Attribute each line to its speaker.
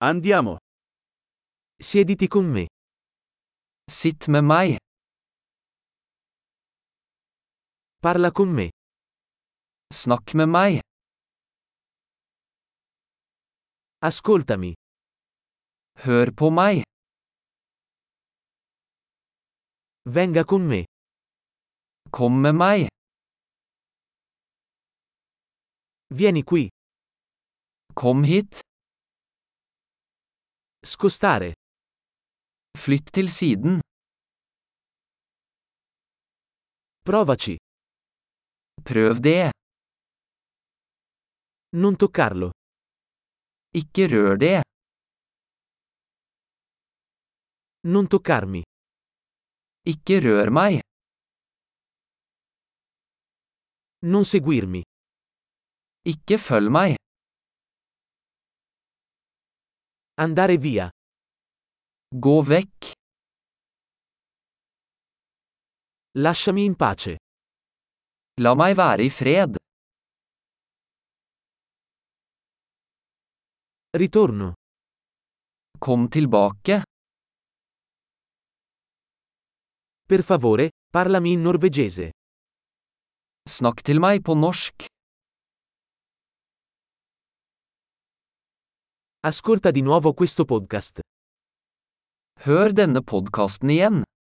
Speaker 1: Andiamo.
Speaker 2: Siediti con me.
Speaker 3: Sitt med meg.
Speaker 2: Parla con me.
Speaker 3: Snakk med meg.
Speaker 2: Ascoltami.
Speaker 3: Hør på meg.
Speaker 2: Venga con me.
Speaker 3: Kom med meg.
Speaker 2: Vieni qui.
Speaker 3: Kom hit.
Speaker 2: Scostare.
Speaker 3: Flytt til siden.
Speaker 2: Provaci.
Speaker 3: Prøv det.
Speaker 2: Non toccarlo.
Speaker 3: Ikke rør det.
Speaker 2: Non toccarmi.
Speaker 3: Ikke rør meg.
Speaker 2: Non seguirmi.
Speaker 3: Ikke følg meg.
Speaker 2: Andare via.
Speaker 3: Gå vekk.
Speaker 2: Lasciami in pace.
Speaker 3: La meg være i fred.
Speaker 2: Ritorno.
Speaker 3: Kom tilbake.
Speaker 2: Per favore, parlami in norvegese.
Speaker 3: Snakk til meg på norsk.
Speaker 2: Ascolta di nuovo questo podcast.
Speaker 3: Hør denne podkasten igjen.